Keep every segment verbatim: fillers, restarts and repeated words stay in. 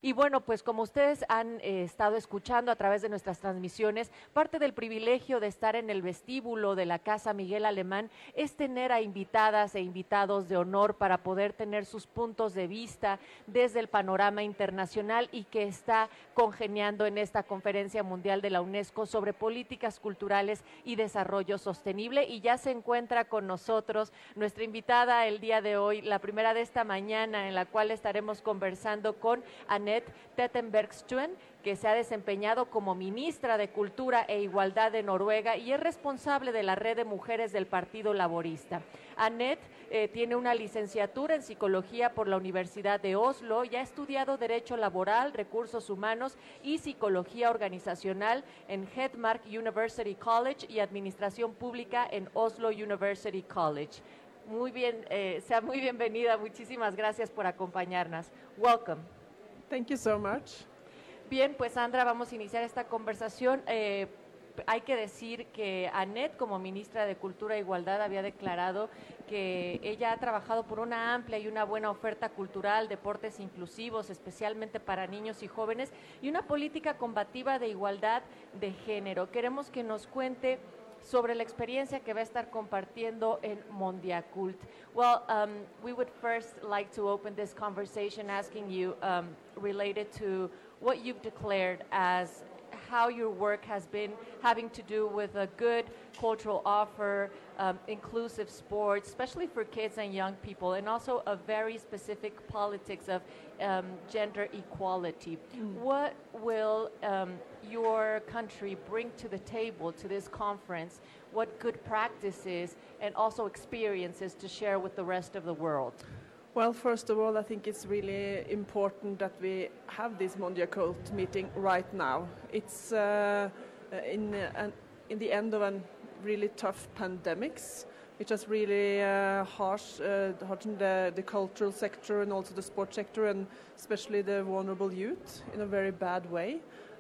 Y bueno, pues como ustedes han eh, estado escuchando a través de nuestras transmisiones, parte del privilegio de estar en el vestíbulo de la Casa Miguel Alemán es tener a invitadas e invitados de honor para poder tener sus puntos de vista desde el panorama internacional y que está congeniando en esta Conferencia Mundial de la UNESCO sobre políticas culturales y desarrollo sostenible. Y ya se encuentra con nosotros nuestra invitada el día de hoy, la primera de esta mañana, en la cual estaremos conversando con Anette Trettebergstuen, que se ha desempeñado como ministra de Cultura e Igualdad de Noruega y es responsable de la red de mujeres del Partido Laborista. Anette eh, tiene una licenciatura en Psicología por la Universidad de Oslo y ha estudiado Derecho Laboral, Recursos Humanos y Psicología Organizacional en Hedmark University College y Administración Pública en Oslo University College. Muy bien, eh, sea muy bienvenida, muchísimas gracias por acompañarnos. Welcome. Thank you so much. Bien, pues Sandra, vamos a iniciar esta conversación. Eh, hay que decir que Anette, como ministra de Cultura e Igualdad, había declarado que ella ha trabajado por una amplia y una buena oferta cultural, deportes inclusivos, especialmente para niños y jóvenes, y una política combativa de igualdad de género. Queremos que nos cuente sobre la experiencia que va a estar compartiendo en Mondiacult. Well, um, we would first like to open this conversation asking you, um, related to what you've declared as how your work has been having to do with a good cultural offer, um, inclusive sports, especially for kids and young people, and also a very specific politics of um, gender equality. Mm. What will um, your country bring to the table to this conference? What good practices and also experiences to share with the rest of the world? Well, first of all, I think it's really important that we have this Mondiacult meeting right now. It's uh, in, uh, an, in the end of a really tough pandemics, which has really uh, harsh, uh, hardened the, the cultural sector and also the sports sector, and especially the vulnerable youth in a very bad way.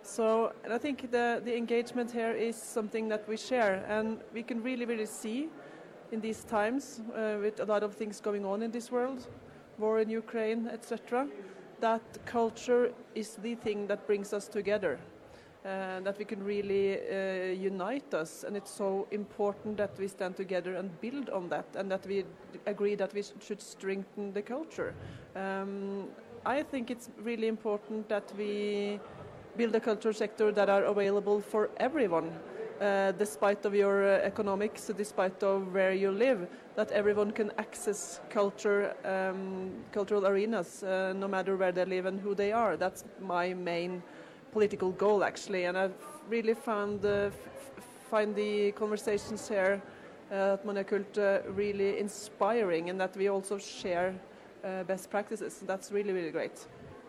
So and I think the, the engagement here is something that we share, and we can really, really see in these times, uh, with a lot of things going on in this world, war in Ukraine, et cetera, that culture is the thing that brings us together, uh, that we can really uh, unite us, and it's so important that we stand together and build on that, and that we agree that we sh- should strengthen the culture. Um, I think it's really important that we build a culture sector that are available for everyone. Uh, despite of your uh, economics, despite of where you live, that everyone can access culture, um, cultural arenas, uh, no matter where they live and who they are. That's my main political goal, actually, and I've really found uh, f- find the conversations here uh, at Mondiacult uh, really inspiring, and that we also share uh, best practices. That's really, really great.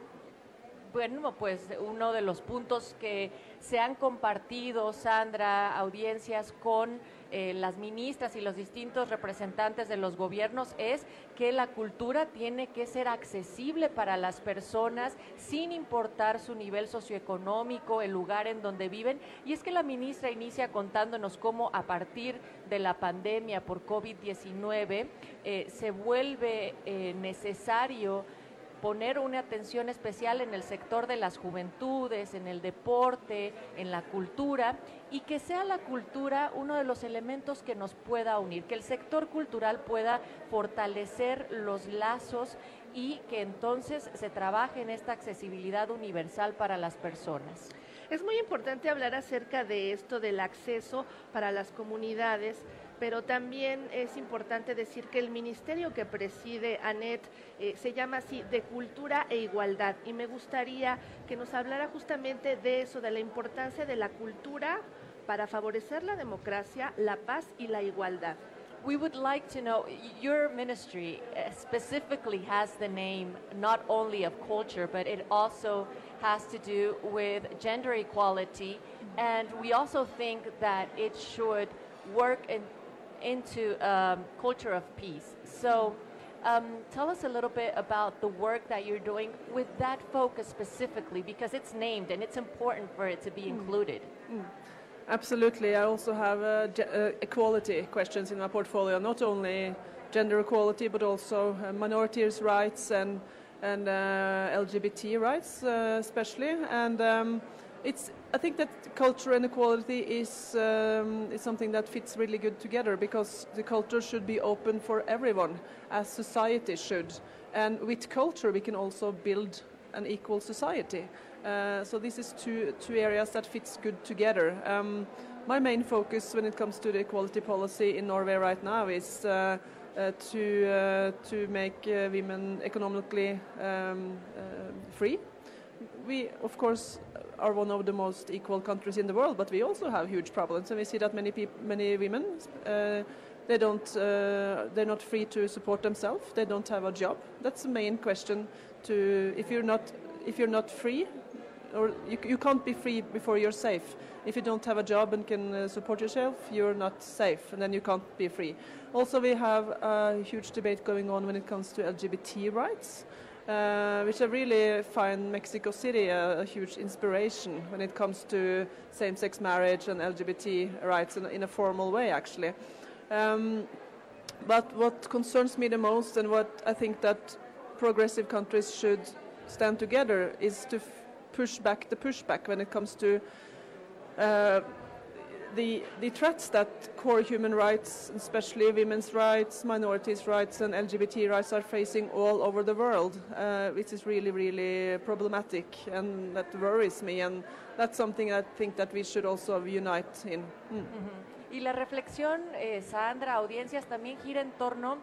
Bueno, pues uno de los puntos que se han compartido, Sandra, audiencias con eh, las ministras y los distintos representantes de los gobiernos es que la cultura tiene que ser accesible para las personas sin importar su nivel socioeconómico, el lugar en donde viven. Y es que la ministra inicia contándonos cómo a partir de la pandemia por COVID diecinueve eh, se vuelve eh, necesario poner una atención especial en el sector de las juventudes, en el deporte, en la cultura, y que sea la cultura uno de los elementos que nos pueda unir, que el sector cultural pueda fortalecer los lazos y que entonces se trabaje en esta accesibilidad universal para las personas. Es muy importante hablar acerca de esto del acceso para las comunidades, pero también es importante decir que el ministerio que preside Anette eh, se llama así, de Cultura e Igualdad, y me gustaría que nos hablara justamente de eso, de la importancia de la cultura para favorecer la democracia, la paz y la igualdad. We would like to know, your ministry specifically has the name not only of culture, but it also has to do with gender equality, and we also think that it should work in, into um, culture of peace. So um, tell us a little bit about the work that you're doing with that focus specifically, because it's named and it's important for it to be included. Mm. Mm. Absolutely. I also have uh, ge- uh, equality questions in my portfolio, not only gender equality, but also uh, minorities' rights and and uh, L G B T rights uh, especially. And um, it's I think that culture and equality is um, is something that fits really good together, because the culture should be open for everyone, as society should. And with culture, we can also build an equal society. Uh, so this is two two areas that fits good together. Um, my main focus when it comes to the equality policy in Norway right now is uh, uh, to uh, to make uh, women economically um, uh, free. We, of course, are one of the most equal countries in the world, but we also have huge problems, and we see that many people, many women, uh, they don't, uh, they're not free to support themselves. They don't have a job. That's the main question. To if you're not, if you're not free, or you, you can't be free before you're safe. If you don't have a job and can uh, support yourself, you're not safe, and then you can't be free. Also, we have a huge debate going on when it comes to L G B T rights. Uh, which I really find Mexico City a, a huge inspiration when it comes to same-sex marriage and L G B T rights in, in a formal way, actually. Um, but what concerns me the most, and what I think that progressive countries should stand together, is to f- push back the pushback when it comes to uh, The, the threats that core human rights, especially women's rights, minorities' rights, and L G B T rights are facing all over the world, uh, which is really, really problematic, and that worries me, and that's something I think that we should also unite in. Mm. Uh-huh. Y la reflexión, eh, Sandra, audiencias, también gira en torno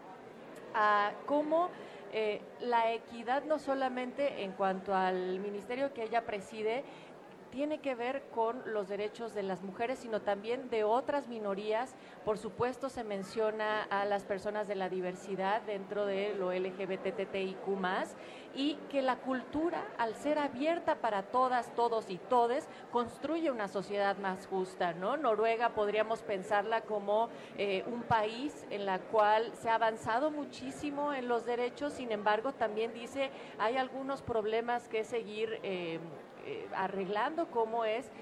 a cómo eh, la equidad, no solamente en cuanto al ministerio que ella preside, tiene que ver con los derechos de las mujeres, sino también de otras minorías. Por supuesto, se menciona a las personas de la diversidad dentro de lo L G B T I Q más, y que la cultura, al ser abierta para todas, todos y todes, construye una sociedad más justa, ¿no? Noruega podríamos pensarla como eh, un país en la cual se ha avanzado muchísimo en los derechos, sin embargo, también dice hay algunos problemas que seguir eh, Eh, arreglando, como es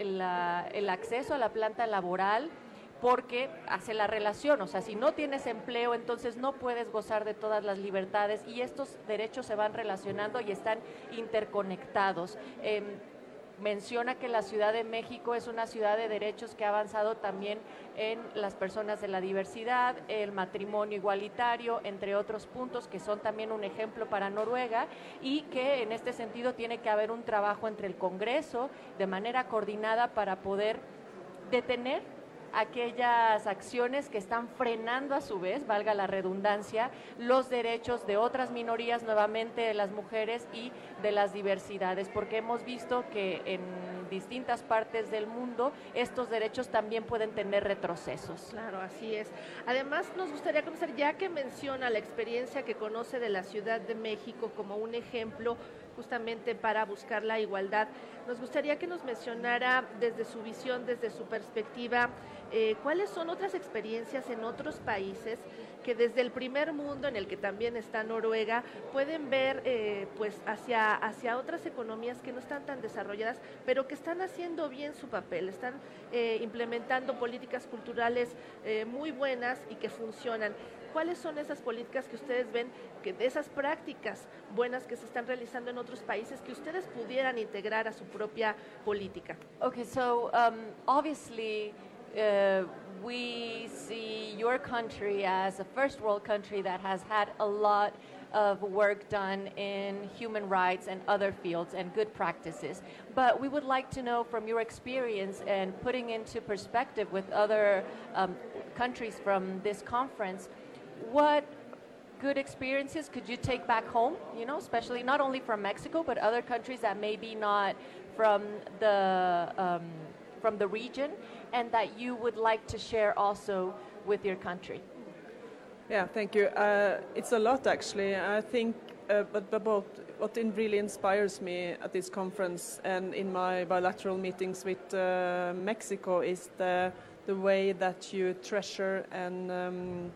la, el acceso a la planta laboral, porque hace la relación, o sea, si no tienes empleo, entonces no puedes gozar de todas las libertades, y estos derechos se van relacionando y están interconectados. Eh, menciona que la Ciudad de México es una ciudad de derechos que ha avanzado también en las personas de la diversidad, el matrimonio igualitario, entre otros puntos que son también un ejemplo para Noruega, y que en este sentido tiene que haber un trabajo entre el Congreso de manera coordinada para poder detener aquellas acciones que están frenando a su vez, valga la redundancia, los derechos de otras minorías, nuevamente de las mujeres y de las diversidades, porque hemos visto que en distintas partes del mundo estos derechos también pueden tener retrocesos. Claro, así es. Además, nos gustaría conocer, ya que menciona la experiencia que conoce de la Ciudad de México como un ejemplo justamente para buscar la igualdad, nos gustaría que nos mencionara desde su visión, desde su perspectiva, eh, cuáles son otras experiencias en otros países que desde el primer mundo, en el que también está Noruega, pueden ver eh, pues hacia, hacia otras economías que no están tan desarrolladas, pero que están haciendo bien su papel, están eh, implementando políticas culturales eh, muy buenas y que funcionan. ¿Cuáles son esas políticas que ustedes ven, que de esas prácticas buenas que se están realizando en otros países, que ustedes pudieran integrar a su propia política? Okay, so um, obviously uh, we see your country as a first world country that has had a lot of work done in human rights and other fields and good practices. But we would like to know from your experience and putting into perspective with other um, countries from this conference, what good experiences could you take back home, you know, especially not only from Mexico, but other countries that may be not from the, um, from the region, and that you would like to share also with your country? Yeah, thank you. Uh, it's a lot, actually. I think, uh, but, but both, what in really inspires me at this conference and in my bilateral meetings with uh, Mexico is the the way that you treasure and um,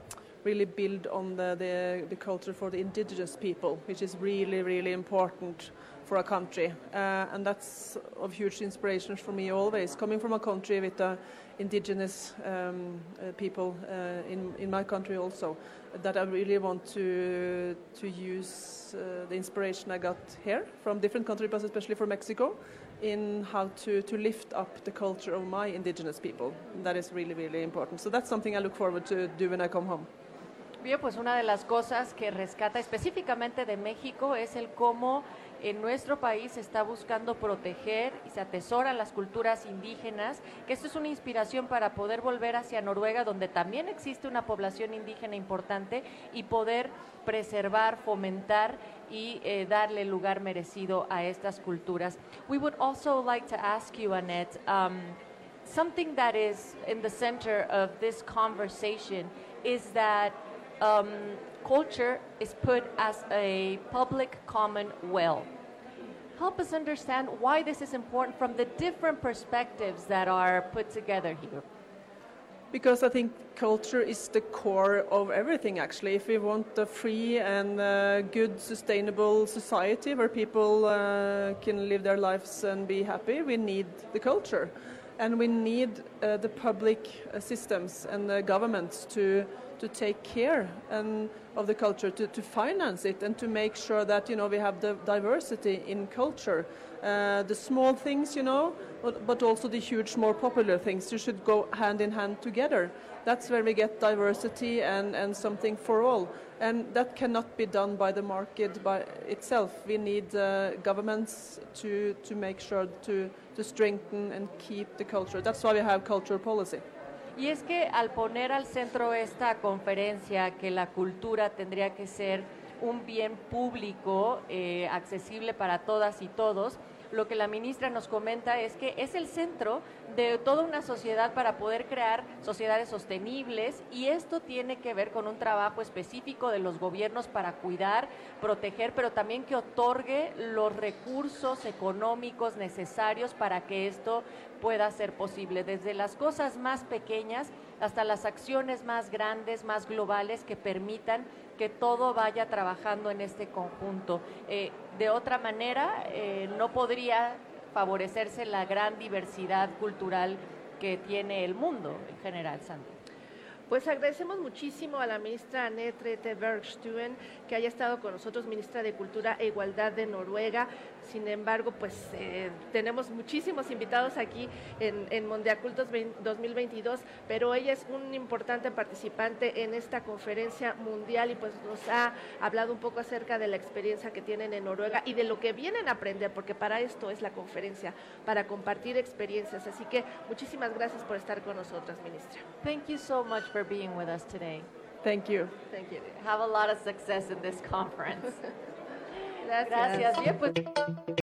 really build on the, the, the culture for the indigenous people, which is really, really important for a country. Uh, and that's of huge inspiration for me always, coming from a country with uh, indigenous um, uh, people uh, in, in my country also, that I really want to, to use uh, the inspiration I got here from different countries, but especially from Mexico, in how to, to lift up the culture of my indigenous people. That is really, really important. So that's something I look forward to do when I come home. Bien, pues una de las cosas que rescata específicamente de México es el cómo en nuestro país se está buscando proteger y se atesoran las culturas indígenas, que esto es una inspiración para poder volver hacia Noruega, donde también existe una población indígena importante, y poder preservar, fomentar y eh, darle el lugar merecido a estas culturas. We would also like to ask you, Annette, um, something that is in the center of this conversation is that Um, culture is put as a public common well. Help us understand why this is important from the different perspectives that are put together here. Because I think culture is the core of everything, actually. If we want a free and uh, good, sustainable society where people uh, can live their lives and be happy, we need the culture. And we need uh, the public uh, systems and the governments to to take care and of the culture, to, to finance it, and to make sure that, you know, we have the diversity in culture. Uh, the small things, you know, but, but also the huge, more popular things. You should go hand in hand together. That's where we get diversity and, and something for all. And that cannot be done by the market by itself. We need uh, governments to, to make sure to, to strengthen and keep the culture. That's why we have cultural policy. Y es que al poner al centro esta conferencia, que la cultura tendría que ser un bien público, eh, accesible para todas y todos, lo que la ministra nos comenta es que es el centro de toda una sociedad para poder crear sociedades sostenibles, y esto tiene que ver con un trabajo específico de los gobiernos para cuidar, proteger, pero también que otorgue los recursos económicos necesarios para que esto pueda ser posible, desde las cosas más pequeñas hasta las acciones más grandes, más globales, que permitan que todo vaya trabajando en este conjunto. Eh, de otra manera, eh, no podría favorecerse la gran diversidad cultural que tiene el mundo en general, Sandra. Pues agradecemos muchísimo a la ministra Annette Rete Bergstuen que haya estado con nosotros, ministra de Cultura e Igualdad de Noruega. Sin embargo, pues eh, tenemos muchísimos invitados aquí en, en Mondiacultos dos mil veintidós, pero ella es un importante participante en esta conferencia mundial y pues nos ha hablado un poco acerca de la experiencia que tienen en Noruega y de lo que vienen a aprender, porque para esto es la conferencia, para compartir experiencias. Así que muchísimas gracias por estar con nosotras, ministra. Thank you so much for being with us today. Thank you. Thank you. Have a lot of success in this conference. Gracias. Gracias. Bien, pues